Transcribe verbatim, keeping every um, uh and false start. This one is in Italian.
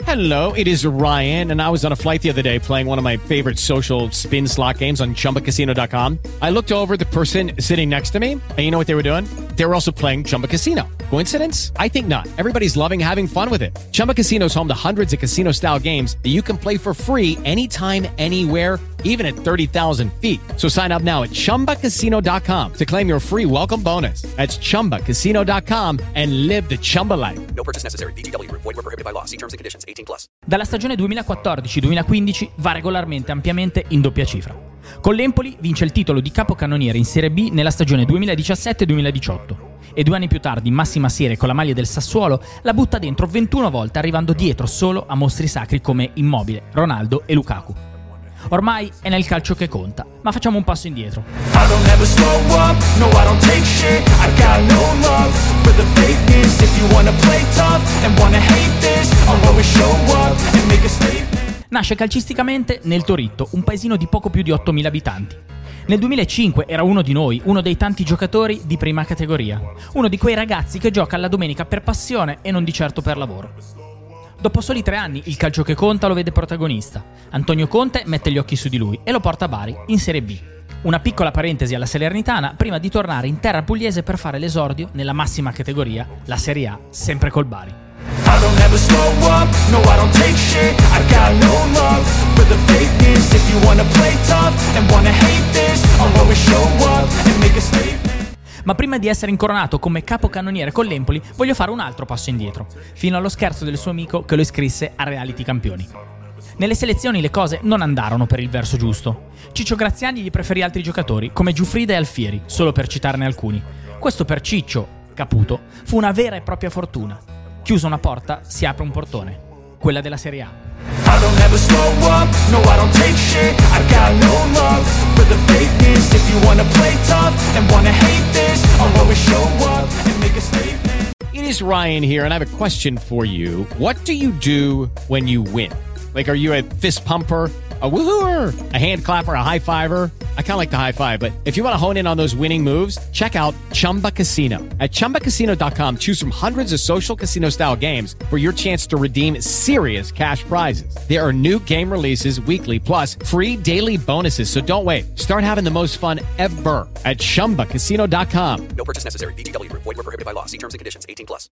Hello, it is Ryan, and I was on a flight the other day playing one of my favorite social spin slot games on Chumba Casino dot com. I looked over at the person sitting next to me, and you know what they were doing? They were also playing Chumba Casino. Coincidence? I think not. Everybody's loving having fun with it. Chumba Casino is home to hundreds of casino-style games that you can play for free anytime, anywhere, even at thirty thousand feet. So sign up now at Chumba Casino dot com to claim your free welcome bonus. That's Chumba Casino dot com and live the Chumba life. No purchase necessary. V G W. Void where prohibited by law. See terms and conditions. eighteen plus. Dalla stagione duemilaquattordici duemilaquindici va regolarmente ampiamente in doppia cifra. Con l'Empoli vince il titolo di capocannoniere in Serie B nella stagione duemiladiciassette duemiladiciotto e due anni più tardi in massima serie con la maglia del Sassuolo la butta dentro ventuno volte, arrivando dietro solo a mostri sacri come Immobile, Ronaldo e Lukaku. Ormai è nel calcio che conta, ma facciamo un passo indietro. I don't ever slow up, no I don't take shit. I got no love for the fakeness. If you wanna play tough and wanna hate this, I'll always show up and make a statement. Nasce calcisticamente nel Toritto, un paesino di poco più di ottomila abitanti. Nel duemilacinque era uno di noi, uno dei tanti giocatori di prima categoria, uno di quei ragazzi che gioca alla domenica per passione e non di certo per lavoro. Dopo soli tre anni il calcio che conta lo vede protagonista. Antonio Conte mette gli occhi su di lui e lo porta a Bari, in Serie B. Una piccola parentesi alla Salernitana prima di tornare in terra pugliese per fare l'esordio nella massima categoria, la Serie A, sempre col Bari. I don't ever slow up, no I don't take shit. I got no love for the fakeness. If you wanna play tough and wanna hate this, I'll always show up and make a statement. Ma prima di essere incoronato come capocannoniere con l'Empoli, voglio fare un altro passo indietro, fino allo scherzo del suo amico che lo iscrisse a Reality Campioni. Nelle selezioni le cose non andarono per il verso giusto. Ciccio Graziani gli preferì altri giocatori, come Giuffrida e Alfieri, solo per citarne alcuni. Questo per Ciccio, Caputo, fu una vera e propria fortuna. Chiusa una porta, si apre un portone. Quella della Serie A. I don't ever slow up, no I don't take shit. I got no love for the fakeness. If you wanna play tough and wanna hate this, I'll always show up and make a statement. It is Ryan here, and I have a question for you. What do you do when you win? Like, are you a fist pumper, a woohooer, a hand clapper, a high fiver? I kind of like the high five, but if you want to hone in on those winning moves, check out Chumba Casino. At Chumba Casino dot com, choose from hundreds of social casino-style games for your chance to redeem serious cash prizes. There are new game releases weekly, plus free daily bonuses, so don't wait. Start having the most fun ever at Chumba Casino dot com. No purchase necessary. V G W. Void where prohibited by law. See terms and conditions. eighteen plus.